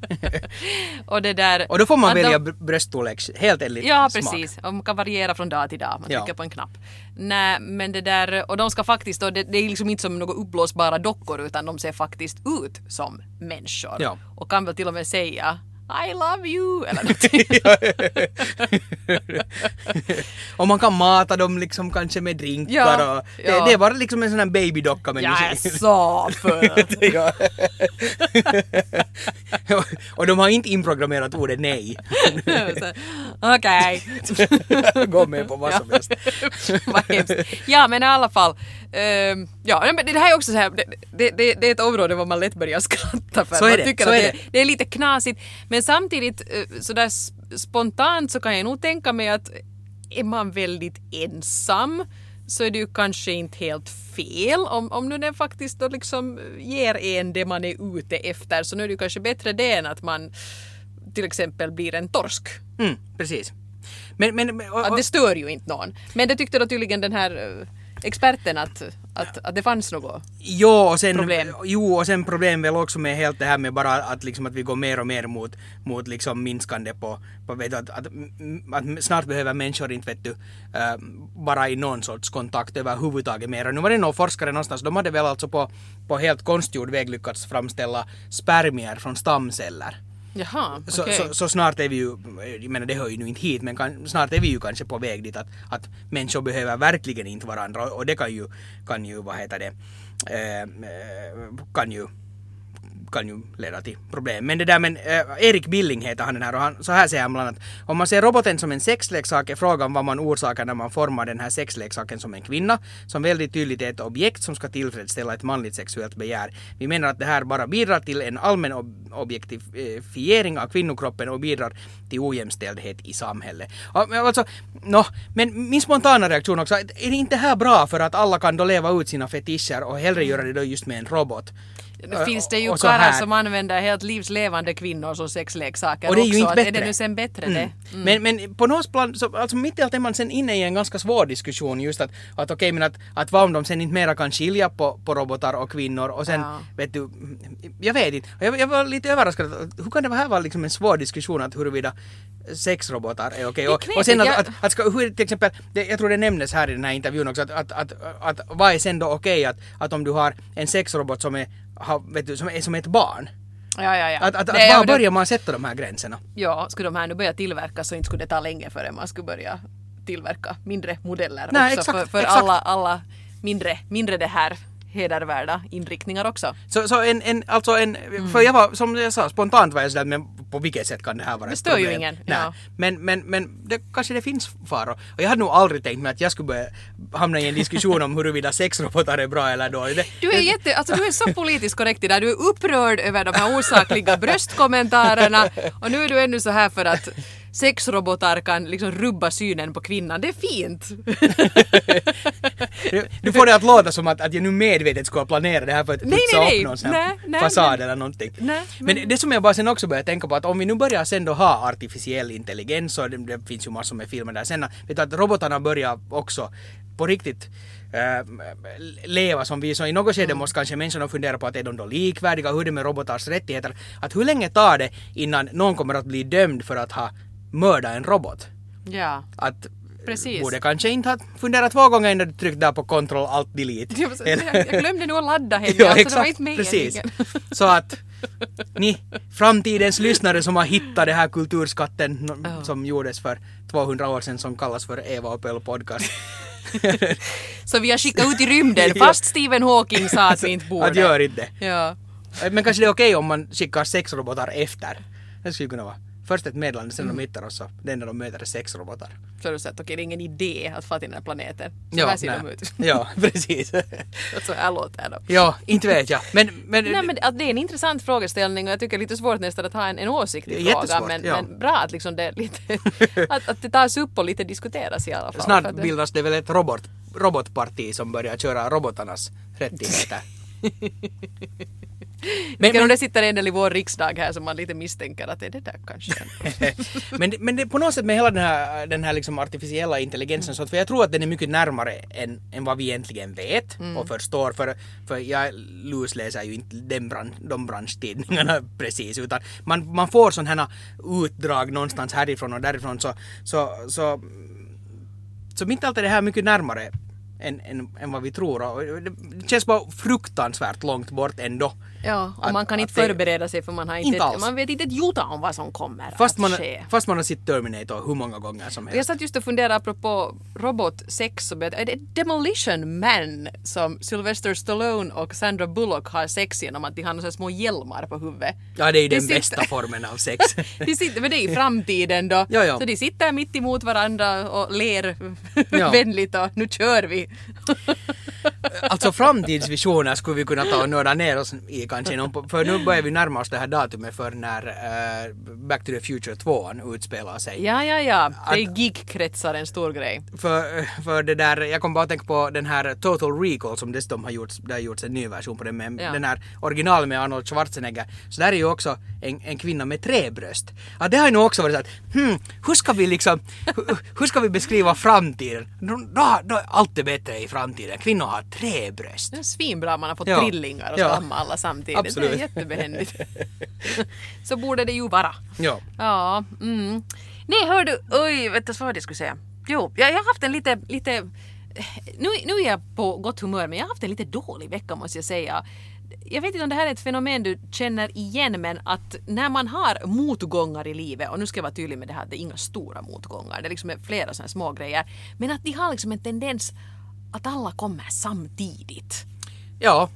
och det där och då får man välja de, bröststorlek helt enligt ja, smak. precis. Och man kan variera från dag till dag. Man ja. trycker på en knapp. Nej, men det där och de ska faktiskt då, det, det är liksom inte som några uppblåsbara dockor utan de ser faktiskt ut som människor. Ja. Och kan väl till och med säga I love you eller någonting. och man kan mata dem liksom kanske med drinkar ja, och det, ja. det är bara liksom en sån här babydocka med jag är så för. ja. och de har inte inprogrammerat ordet nej. Okej. Gå med på vad som helst. Vad hemskt. Ja, men i alla fall um, ja, men det här är också så här det, det, det, det är ett område där man lätt börjar skratta för så är man det, tycker så att är det, det. det är lite knasigt men samtidigt så där spontant så kan jag nog tänka mig att är man väldigt ensam så är det ju kanske inte helt fel om, om nu den faktiskt då liksom ger en det man är ute efter så nu är det ju kanske bättre det än att man till exempel blir en torsk. Mm, precis. Men, men, och, och, att det stör ju inte någon. Men det tyckte då tydligen den här uh, experten att, att, att det fanns något jo, och sen, problem. Jo, och sen problem väl också med helt det här med bara att, liksom, att vi går mer och mer mot, mot liksom minskande på, på vet du, att, att, att snart behöver människor inte vet du, äh, bara i någon sorts kontakt överhuvudtaget mer. Och nu var det någon forskare någonstans, de hade väl alltså på, på helt konstgjord väg lyckats framställa spermier från stamceller. Jaha, så, okay. så, så snart är vi ju, jag menar det hör ju nu inte hit, men kan, snart är vi ju kanske på väg dit att, att människor behöver verkligen inte varandra och det kan ju, kan ju vad heter det, eh, kan ju kan ju leda till problem. Men det där, men äh, Erik Billing heter han den här och han, så här säger han bland annat: om man ser roboten som en sexleksak är frågan vad man orsakar när man formar den här sexleksaken som en kvinna, som väldigt tydligt är ett objekt som ska tillfredsställa ett manligt sexuellt begär. Vi menar att det här bara bidrar till en allmän ob- objektifiering av kvinnokroppen och bidrar till ojämställdhet i samhället. Och, alltså, no, men min spontana reaktion också, är det inte här bra för att alla kan då leva ut sina fetischer och hellre göra det då just med en robot? Det finns det ju och så karlar här. som använder helt livslevande kvinnor som sexleksaker Och det är ju också. inte Att bättre. är det nu sen bättre Mm. det? Mm. Men, men på något plan, så, alltså mitt i allt är man sen inne i en ganska svår diskussion just att, att okej, okay, men att, att vad om de sen inte mera kan skilja på, på robotar och kvinnor och sen, Ja. vet du, jag vet inte. Jag, jag var lite överraskad, hur kan det här vara liksom en svår diskussion att huruvida sexrobotar är okej? Okay? Det är Och, knepigt, och sen att, jag- att, att ska, hur, till exempel, det, jag tror det nämndes här i den här intervjun också, att, att, att, att, att vad är sen då okej okay, att, att om du har en sexrobot som är, har, vet du, som är som ett barn? Ja, ja, ja. Att, att, att Det är var ju det- börjar man sätta de här gränserna? Ja, skulle de här nu börja tillverkas så inte skulle det ta länge förrän man skulle börja tillverka mindre modeller Nej, också exakt, för, för exakt. alla, alla mindre, mindre det här hedervärda inriktningar också. Så, så en, en, alltså en, för jag var, som jag sa, spontant var jag sådär, men på vilket sätt kan det här vara Det ett stör ju problem? ingen, Nej. ja. Men, men, men det, kanske det finns faror. Och jag hade nog aldrig tänkt mig att jag skulle börja hamna i en diskussion om huruvida sexrobotar är bra eller dåligt. Det, Du är, jätte, alltså, du är så politiskt korrekt i det. Du är upprörd över de här osakliga bröstkommentarerna och nu är du ännu så här för att sexrobotar kan liksom rubba synen på kvinnan. Det är fint! du, du får det att låta som att, att jag nu medvetet skulle planera det här för att Nej, putsa nej, nej. upp någon sån här Nej, nej, fasad men- eller någonting. Nej, men, men- det som jag bara sen också börjar tänka på att om vi nu börjar sen då ha artificiell intelligens och det, det finns ju massor med filmer där sen, vet du, att robotarna börjar också på riktigt äh, leva som vi, så i något skede Mm. måste kanske människorna fundera på att är de då likvärdiga, hur är det med robotars rättigheter, att hur länge tar det innan någon kommer att bli dömd för att ha mördat en robot? Ja. Att Precis. borde kanske inte ha funderat två gånger innan du tryckte där på control alt delete. Jag, jag glömde nog att ladda henne, Ja, alltså det var exakt, inte precis. meningen. Så att ni framtidens lyssnare som har hittat det här kulturskatten no, Ja. som gjordes för tvåhundra år sedan som kallas för Eva och Pell podcast. Så vi har skickat ut i rymden fast Stephen Hawking sa att vi inte borde. Att gör inte. Ja. Men kanske det är okej om man skickar sexrobotar efter. Det skulle kunna vara. Först ett meddelande, sen de hittar oss och det enda de möter är sexrobotar. Så har du sett, okej det är ingen idé att få till den här planeten. Så Ja, här ser nej. de ut. Ja, precis. Så här låter de. Ja, inte vet jag. Men, men, Nej, men att det är en intressant frågeställning och jag tycker det är lite svårt nästan att ha en, en åsikt i Det är frågan. jättesvårt, Men, ja. men bra att, liksom det, är lite, att, att det tas upp och lite diskuteras i alla fall. snart För att det- bildas det väl ett robot, robotparti som börjar köra robotarnas rättigheter. Men, men om det sitter en del i vår riksdag här som man lite misstänker att det är det där kanske. men, men det, på något sätt med hela den här, den här liksom artificiella intelligensen, så att, för jag tror att den är mycket närmare än, än vad vi egentligen vet och förstår, för, för jag lusläser ju inte den bran, de branschtidningarna precis, utan man, man får sådana här utdrag någonstans härifrån och därifrån, så, så, så, så mitt allt är det här mycket närmare än, än, än vad vi tror, och det känns bara fruktansvärt långt bort ändå. Ja, och Att- man kan att inte det- förbereda sig för man har inte, Inte ett, alls. man vet inte ett jota om vad som kommer Fast att man, ske. fast man har sett Terminator hur många gånger som Jag helst. satt just och funderade apropå robotsex, och är det Demolition Man som Sylvester Stallone och Sandra Bullock har sex genom att de har några små hjälmar på huvudet. Ja, det är ju De den sitter- bästa formen av sex. De sitter, men det är i framtiden då. Ja, ja. Så de sitter mitt emot varandra och ler Ja. vänligt och nu kör vi. Alltså framtidsvisioner skulle vi kunna ta och nörda ner oss i kanske. någon- För nu börjar vi närma oss det här datumet för när uh, Back to the Future två utspelar sig. Ja, ja, ja. Det är geekkretsar en stor grej. För, för det där, jag kom bara att tänka på den här Total Recall som dessutom har gjorts, det har gjorts en ny version på den, med Ja. den här original med Arnold Schwarzenegger. Så där är ju också en, en kvinna med tre bröst. Ja, det har ju nog också varit så att, hmm, hur ska vi liksom, hur, hur ska vi beskriva framtiden? Då, då, då är allt är bättre i framtiden. Kvinnor har tre bröst. Det är svinbra om man har fått Ja. trillingar och Ja. stamma alla samtidigt. Absolut. Det är jättebehändigt. Så borde det ju vara. Ja. Ja, mm. Nej, hör du, oj, vet du vad jag skulle säga? Jo, jag, jag har haft en lite, lite, nu, nu är jag på gott humör, men jag har haft en lite dålig vecka måste jag säga. Jag vet inte om det här är ett fenomen du känner igen, men att när man har motgångar i livet, och nu ska jag vara tydlig med det här, det är inga stora motgångar, det är liksom flera sådana små grejer, men att de har liksom en tendens att alla kommer samtidigt. Ja,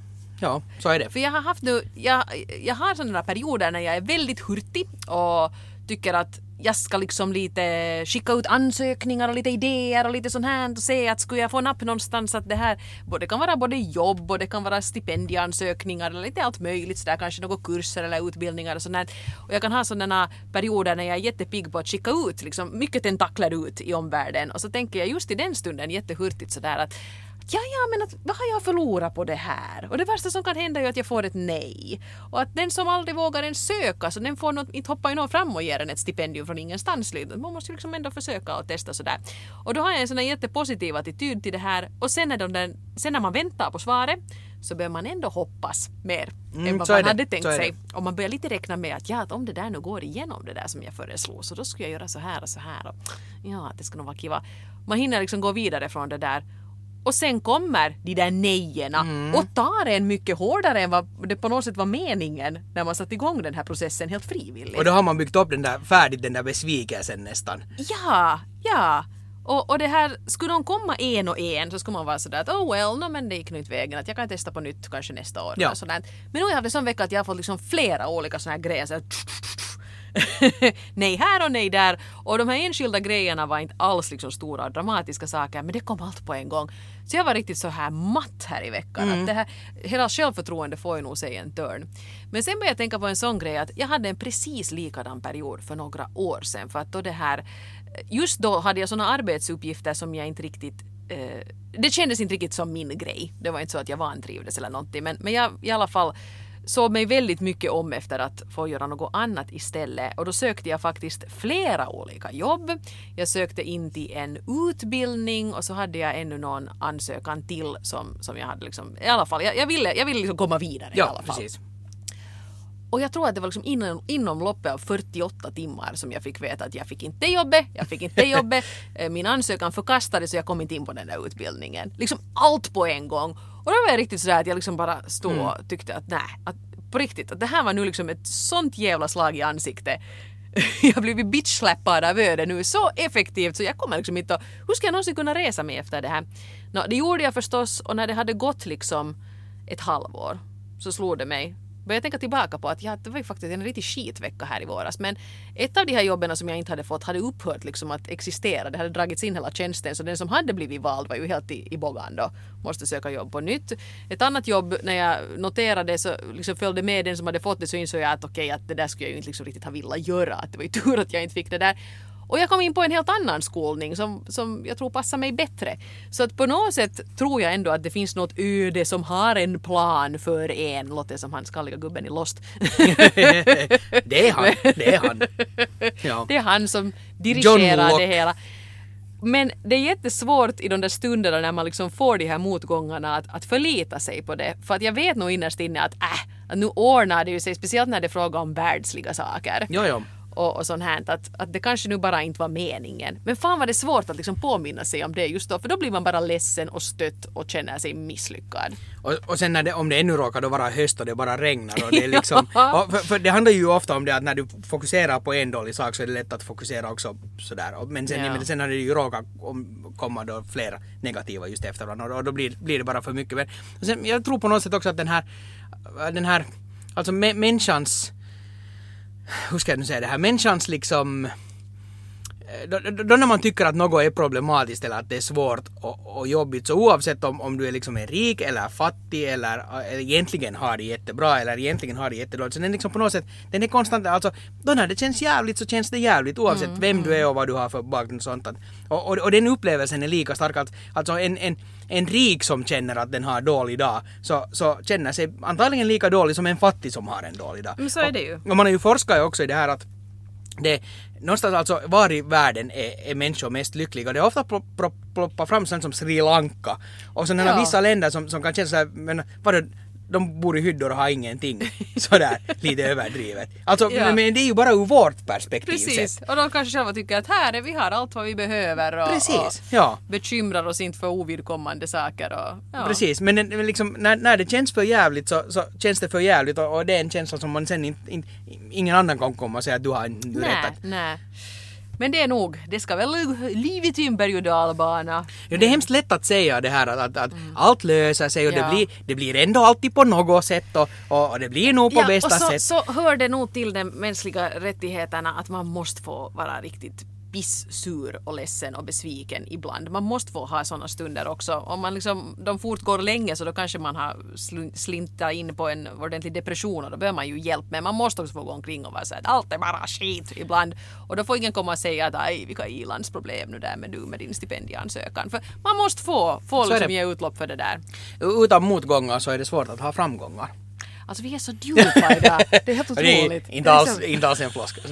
Ja, så är det. För jag har haft nu, jag, jag har sådana perioder när jag är väldigt hurtig och tycker att jag ska liksom lite skicka ut ansökningar och lite idéer och lite sånt här och se att skulle jag få napp någonstans att det här, det kan vara både jobb och det kan vara stipendieansökningar eller lite allt möjligt så där, kanske några kurser eller utbildningar och sånt här. Och jag kan ha sådana perioder när jag är jättepigg på att skicka ut liksom mycket tentakler ut i omvärlden och så tänker jag just i den stunden jättehurtigt sådär att ja, ja, men att, vad har jag förlorat på det här? Och det värsta som kan hända är ju att jag får ett nej. Och att den som aldrig vågar en söka, så den får något, inte hoppa ju någon fram och ger en ett stipendium från ingenstans. Man måste ju liksom ändå försöka och testa sådär. Och då har jag en sån här jättepositiv attityd till det här. Och sen när, de där, sen när man väntar på svaret så börjar man ändå hoppas mer mm, än vad man hade tänkt sig. Och man börjar lite räkna med att, ja, att om det där nu går igenom det där som jag föreslår så då ska jag göra så här och så här. Och, ja, det ska nog vara kiva. Man hinner liksom gå vidare från det där. Och sen kommer de där nejerna mm. och tar en mycket hårdare än vad det på något sätt var meningen när man satt igång den här processen helt frivilligt. Och då har man byggt upp den där färdigt, den där besvikelsen nästan. Ja, ja. Och, och det här, skulle de komma en och en så skulle man vara sådär att oh well, no, men det gick nu inte vägen att jag kan testa på nytt kanske nästa år. Ja. Men nu har jag haft en sån vecka att jag har fått liksom flera olika såna här grejer så här, nej här och nej där och de här enskilda grejerna var inte alls liksom stora och dramatiska saker men det kom allt på en gång så jag var riktigt så här matt här i veckan mm. att det här, hela självförtroende får ju nog sig en törn. Men sen började jag tänka på en sån grej att jag hade en precis likadan period för några år sedan för att då det här just då hade jag såna arbetsuppgifter som jag inte riktigt eh, det kändes inte riktigt som min grej, det var inte så att jag vantrivdes eller någonting men, men jag i alla fall såg mig väldigt mycket om efter att få göra något annat istället. Och då sökte jag faktiskt flera olika jobb. Jag sökte in till en utbildning och så hade jag ännu någon ansökan till som, som jag hade liksom, i alla fall, jag, jag ville, jag ville liksom komma vidare ja, i alla fall. Precis. Och jag tror att det var liksom inom, inom loppet av fyrtioåtta timmar som jag fick veta att jag fick inte jobbet, jag fick inte jobbet, min ansökan förkastades så jag kom inte in på den där utbildningen. Liksom allt på en gång. Och då var jag riktigt sådär att jag liksom bara stod och tyckte att nej, att på riktigt, att det här var nu liksom ett sånt jävla slag i ansiktet. Jag har blivit bitchsläppad av öde nu så effektivt så jag kommer liksom inte att, hur ska jag någonsin kunna resa mig efter det här? Nå, det gjorde jag förstås och när det hade gått liksom ett halvår så slog det mig. Började jag tänka tillbaka på att ja, det var ju faktiskt en riktigt skitvecka här i våras. Men ett av de här jobben som jag inte hade fått hade upphört liksom att existera. Det hade dragits in hela tjänsten. Så den som hade blivit vald var ju helt i, i bågan då. Måste söka jobb på nytt. Ett annat jobb, när jag noterade så liksom följde med den som hade fått det så insåg jag att okej, okay, att det där skulle jag ju inte liksom riktigt ha velat göra. Att det var ju tur att jag inte fick det där. Och jag kom in på en helt annan skolning som, som jag tror passar mig bättre. Så att på något sätt tror jag ändå att det finns något öde som har en plan för en. Låter som han skalliga gubben i Lost. Det är han. Det är han. Ja. Det är han som dirigerar det hela. Men det är jättesvårt i de där stunderna när man liksom får de här motgångarna att, att förlita sig på det. För att jag vet nog innerst inne att, äh, att nu ordnar det ju sig. Speciellt när det är fråga om världsliga saker. Ja, ja. Och, och sånt här, att, att det kanske nu bara inte var meningen. Men fan var det svårt att liksom påminna sig om det just då. För då blir man bara ledsen och stött och känner sig misslyckad. Och, och sen när det, om det ännu råkar då vara höst och det bara regnar. Och det, är liksom, och för, för det handlar ju ofta om det att när du fokuserar på en dålig sak så är det lätt att fokusera också sådär. Men sen, ja. men sen har det ju råkat om, komma då flera negativa just efter varandra. Och då blir, blir det bara för mycket. Men sen, jag tror på något sätt också att den här, den här alltså mä, människans hur ska jag nu säga det här, människans liksom då, då, då när man tycker att något är problematiskt eller att det är svårt och, och jobbigt så oavsett om, om du är liksom är rik eller fattig eller, eller egentligen har det jättebra eller egentligen har det jättedåligt så den liksom på något sätt, den är konstant, alltså då när det känns jävligt så känns det jävligt oavsett mm, vem mm. du är och vad du har för bakgrund och sånt att, och, och, och den upplevelsen är lika stark att, alltså en, en, en rik som känner att den har dålig dag så, så känner sig antagligen lika dålig som en fattig som har en dålig dag. Men så är det ju. Och, och man har ju forskat också i det här att det någonstans alltså var i världen är, är människor mest lyckliga. Det är ofta ploppar fram sånt som Sri Lanka och sådana ja. vissa länder som, som kan känna så här, men vadå, de bor i hyddor och har ingenting sådär lite överdrivet. Alltså, ja. men det är ju bara ur vårt perspektiv. Precis, sett. Och de kanske själva tycker att här är vi har allt vad vi behöver och, Precis, och ja. bekymrar oss inte för ovidkommande saker. Och, ja. Precis, men, men liksom, när, när det känns för jävligt så, så känns det för jävligt och, och det är en känsla som man sen inte, in, ingen annan kan komma och säga att du har en rätt att... Nej, Men det är nog, det ska väl livet i en berg- och dalbana. Ja, det är hemskt lätt att säga det här att, att, att mm. allt löser sig och ja. det, blir, det blir ändå alltid på något sätt och, och, och det blir nog på ja, bästa och så, sätt. så hör det nog till de mänskliga rättigheterna att man måste få vara riktigt pissur och ledsen och besviken ibland. Man måste få ha sådana stunder också. Om man liksom, de fortgår länge så då kanske man har sl- slintat in på en ordentlig depression och då behöver man ju hjälp. Men man måste också få gå omkring och vara så att allt är bara skit ibland. Och då får ingen komma och säga att aj, vilka ilandsproblem nu där med du med din stipendieansökan. För man måste få, få liksom ge utlopp för det där. Utan motgångar så är det svårt att ha framgångar. Alltså vi är så djupa idag. Det är helt otroligt. Det är inte alls, inte alls en floskel.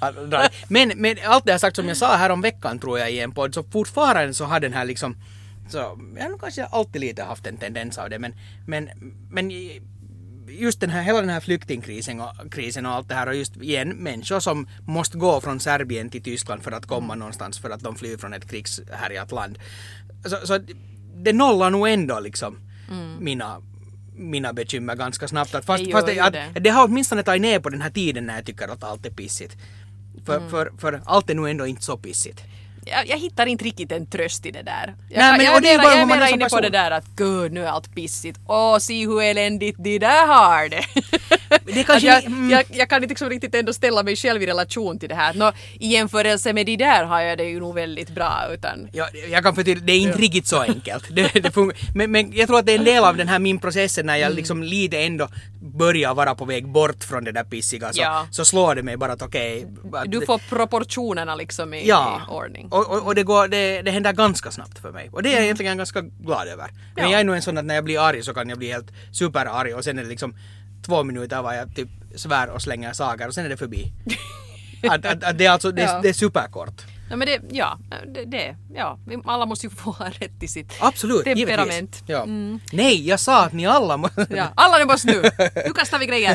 Men, men allt det här sagt som jag sa här om veckan tror jag i en podd så fortfarande så har den här liksom så, jag har nog kanske alltid lite haft en tendens av det men, men, men just den här, hela den här flyktingkrisen och, krisen och allt det här och just igen människor som måste gå från Serbien till Tyskland för att komma någonstans för att de flyr från ett krigshärjat land. Så, så det nollar nog ändå liksom mm. mina mina bekymmer ganska snabbt. Att fast, det, fast det, att, det. det har åtminstone tagit ner på den här tiden när jag tycker att allt är pissigt. För, mm. för, för allt är nog ändå inte så pissigt. Jag, jag hittar inte riktigt en tröst i det där. Jag, Nej, men, jag, och det är bara jag är man mera är inne person. på det där att gud, nu är allt pissigt. Åh, se hur eländigt de där har det. det kanske jag, mm. jag, jag kan inte liksom riktigt ändå ställa mig själv i relation till det här. Nå, i jämförelse med de där har jag det ju nog väldigt bra. Utan... Ja, jag kan förtydliga, det är inte riktigt så enkelt. det, det men, men jag tror att det är en del av den här min processen när jag mm. liksom lite ändå börjar vara på väg bort från det där pissiga. Så, ja. så slår det mig bara att okej. Okay, du får proportionerna liksom i, ja. i ordning. Och, och, och det går Det, det händer ganska snabbt för mig. Och det är jag egentligen ganska glad över. Men ja. jag är nog en sån att när jag blir arg så kan jag bli helt superarg och sen är det liksom två minuter var jag typ svär och slänger saker och sen är det förbi. att, att, att det är alltså det, ja. det är superkort. Ja, men det, ja, det, det, ja, alla måste ju få ha rätt till sitt Absolut, temperament. Ja. Mm. Nej, jag sa att ni alla måste... ja, alla ni måste nu. Nu kastar vi grejer.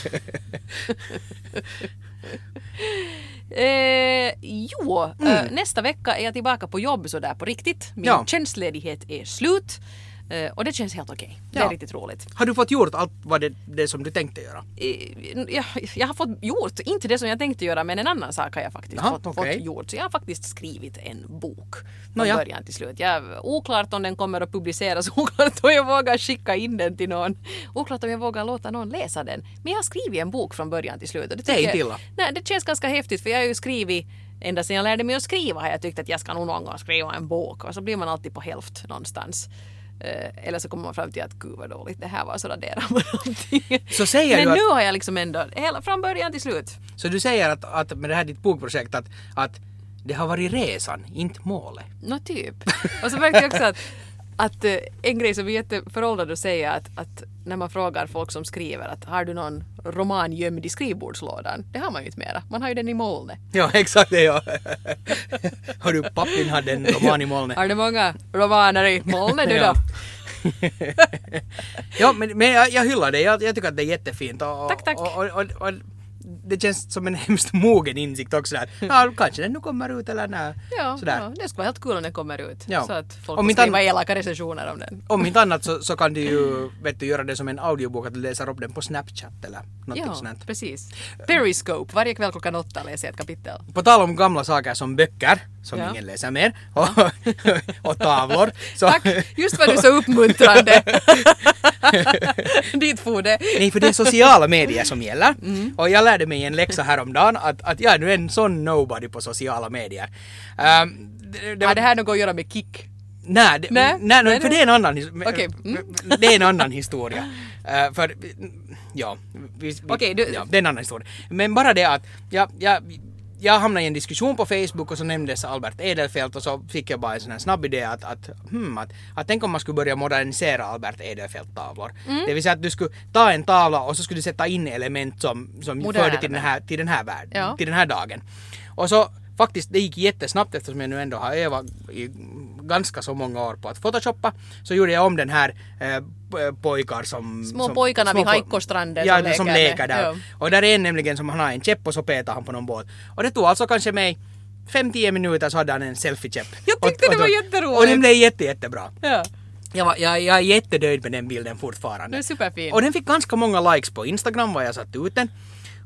Eh, jo, mm. eh, nästa vecka är jag tillbaka på jobb så där på riktigt. Min ja. tjänstledighet är slut. Eh, och det känns helt okej. Okay. Det ja. är riktigt roligt. Har du fått gjort allt vad det, det som du tänkte göra? Eh, jag, jag har fått gjort, inte det som jag tänkte göra, men en annan sak har jag faktiskt ja, fått, okay. fått gjort. Så jag har faktiskt skrivit en bok från no, ja. början till slut. Jag, oklart om den kommer att publiceras, oklart om jag vågar skicka in den till någon. Oklart om jag vågar låta någon läsa den. Men jag har skrivit en bok från början till slut. Och det, det är inte illa. Nej, det känns ganska häftigt för jag har ju skrivit ända sedan jag lärde mig att skriva har jag tyckt att jag ska nog någon gång skriva en bok. Och så blir man alltid på hälft någonstans. Uh, eller så kommer man fram till att gud vad dåligt det här var så raderar man någonting. Så säger Men du nu att, har jag liksom ändå hela från början till slut. Så du säger att, att med det här ditt bokprojekt att, att det har varit resan, inte målet. Nå typ. Och så märkte jag också att, att uh, en grej som är jätteföråldrad att säga att, att när man frågar folk som skriver att har du någon roman gömd i skrivbordslådan? Det har man ju inte mera. Man har ju den i molnet. Ja, exakt det ja. Har du pappin hade en roman i molnet? Har du många romaner i molnet du då? Ja, men, men jag, jag hyllar det. Jag, jag tycker att det är jättefint. Och, tack, tack. Och, och, och, och det känns som en hemskt mogen insikt också där. Ja, kanske den nu kommer ut eller nej. Ja, ja, det ska vara helt kul om den kommer ut. Ja. Så att folk får skriva elaka recensioner om den. Om inte annat så, så kan du ju vet du, göra det som en audiobok att du läser upp den på Snapchat eller något ja, sånt. Ja, precis. Periscope. Varje kväll klockan åtta läser jag ett kapitel. På tal om gamla saker som böcker, som ja. ingen läser mer, och, ja. och tavlor. Så. Tack, just vad du så uppmuntrande. Dit for det. Nej, för det är sociala medier som gäller. Mm. Och jag lärde mig en läxa häromdagen att, att jag är nu en sån nobody på sociala medier. Um, det, det, Har det här något att göra med kick? Nej, det, nej, nej, nej för det är en annan, okay. mm. det är en annan historia. Uh, för, ja, vi, vi, okay, du... ja, det är en annan historia. Men bara det att jag, jag, jag hamnade i en diskussion på Facebook och så nämndes Albert Edelfelt och så fick jag bara en sån här snabb idé att, att, hmm, att, att tänk om man skulle börja modernisera Albert Edelfelt-tavlor. Mm. Det vill säga att du skulle ta en tavla och så skulle du sätta in element som, som förde till den här, till den här världen, ja. till den här dagen. Och så faktiskt, det gick jättesnabbt eftersom jag nu ändå har övat i ganska så många år på att photoshoppa. Så gjorde jag om den här eh, pojkar som... Små som, pojkarna små vid Haikkostranden ja, som leker. som leker där. Ja. Och där är en nämligen som han har en käpp och så petar han på någon båt. Och det tog alltså kanske mig fem till tio minuter så hade han en selfie-käpp. Jag tyckte och, och, det var jätteroligt. Och den blev jätte, jättebra. Ja. Jag, var, jag, jag är jättedöjd med den bilden fortfarande. Det är superfin. Och den fick ganska många likes på Instagram var jag satt ut den.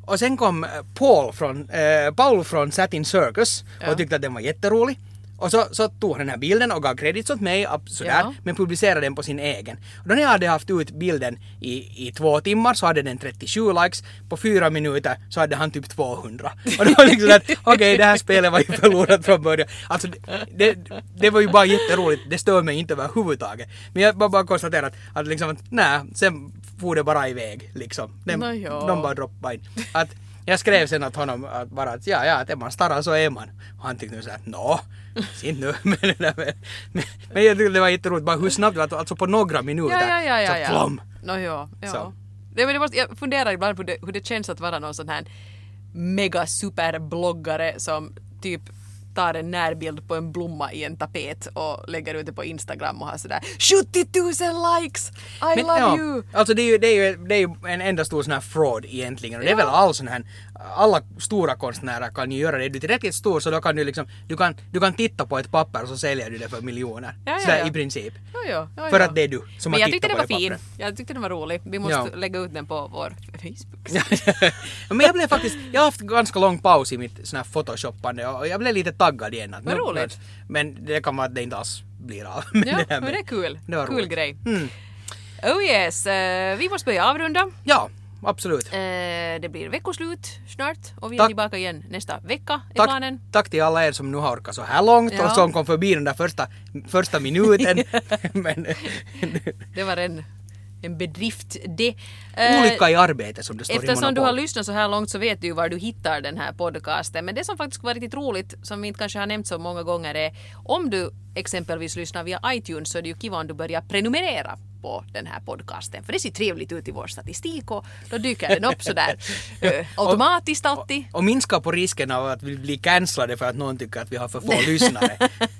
Och sen kom Paul från, äh, Paul från Satin Circus och Ja. tyckte att den var jätterolig. Och så, så tog han den här bilden och gav credits åt mig sådär, Ja. men publicerade den på sin egen. Och då när jag hade haft ut bilden i, i två timmar så hade den trettiosju likes. På fyra minuter så hade han typ tvåhundra. Och det var liksom att okej, okay, det här spelet var ju förlorat från början. Alltså det, det, det var ju bara jätteroligt. Det stör mig inte överhuvudtaget. Men jag bara, bara konstaterar att, att liksom att nej, sen får det bara iväg liksom. Den, Nå, ja. de bara droppade in. Att jag skrev sen åt honom att bara att ja, ja, att är man starrar så är man. Och han tyckte nu såhär, nå, sin nu. men, men, men, men jag tyckte det var jätteroligt, bara hur snabbt det var, alltså på några minuter. Ja, ja, ja, ja, så ja. plom. No, ja, ja. Så. Det, men det måste, jag funderar ibland på det, hur det känns att vara någon sån här mega superbloggare som typ tar en närbild på en blomma i en tapet och lägger ut det på Instagram och har sådär sjuttio tusen likes! I Men, love ja, you! alltså det är ju, det är ju, det är ju en enda stor sån här fraud egentligen. Och det är Ja. väl all sån här, alla stora konstnärer kan ju göra det. Du är tillräckligt stor så då kan du liksom, du kan, du kan titta på ett papper och så säljer du det för miljoner. Ja, ja, Sådär ja. i princip. Ja, ja, ja, För ja. att det är du som Men har jag tyckte tittat den på var det fin. pappret. Jag tyckte den var rolig. Vi måste Ja. lägga ut den på vår Facebook. Men jag blev faktiskt, jag har haft ganska lång paus i mitt sån här photoshoppande och jag blev lite taggad igen. Att Vad nu- roligt. Men det kan vara att det inte alls blir av. Men Ja, här men med- det är kul. det var Kul roligt. grej. Mm. Oh yes, eh, vi måste börja avrunda. Ja, absolut. Eh, det blir veckoslut snart och vi är Tack. tillbaka igen nästa vecka är Tack, planen. tack till alla er som nu har orkat så här långt Ja. och som kom förbi den där första, första minuten. Men, Det var en, en bedrift det. Eh, olycka i arbete som det står i Eftersom du har Monopol. lyssnat så här långt så vet du ju var du hittar den här podcasten. Men det som faktiskt var riktigt roligt, som vi inte kanske har nämnt så många gånger, är om du exempelvis lyssnar via iTunes så är det ju kiva om du börjar prenumerera på den här podcasten. För det ser trevligt ut i vår statistik och då dyker den upp sådär eh, automatiskt alltid. Och minska på risken av att vi blir cancellade för att någon tycker att vi har för få lyssnare.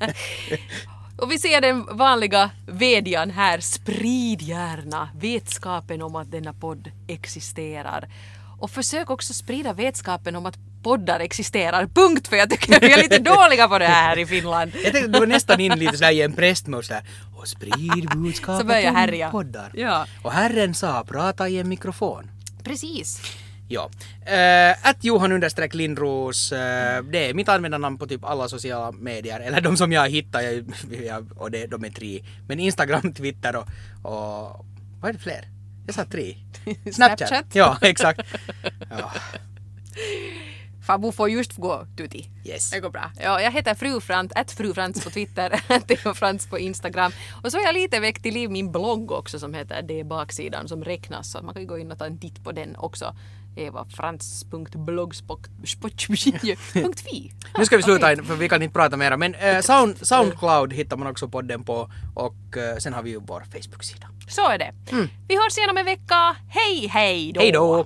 Och vi ser den vanliga vädjan här, sprid gärna vetskapen om att denna podd existerar. Och försök också sprida vetskapen om att poddar existerar, punkt, för jag tycker vi är lite dåliga på det här i Finland. Jag tänkte, du var nästan in lite sådär i en prästmode sådär. Och sprid Så budskapet börjar om härja. poddar. Ja. Och Herren sa, prata i en mikrofon. Precis. Ja. Uh, att Johan understreck Lindros, uh, det är mitt användarnamn på typ alla sociala medier. Eller de som jag hittar, jag, jag, och det, de är tre. Men Instagram, Twitter och, och vad är det fler? Jag sa tre. Snapchat. Snapchat. Ja, exakt. Ja. Fabu får just gå tuti. Yes. Det går bra. Ja, jag heter Fru Frans, att Fru Frans på Twitter, Theo Frans på Instagram. Och så har jag lite väckt till liv min blogg också som heter Det baksidan som räknas. Så man kan ju gå in och ta en titt på den också. evafrans punkt blogspot punkt fi. Nu ska vi sluta in, för vi kan inte prata mera. Men uh, Sound, Soundcloud hittar man också podden på. Och uh, sen har vi ju vår Facebook-sida. Så är det. Vi hörs igen om en vecka. Hej, hej då! Hej då!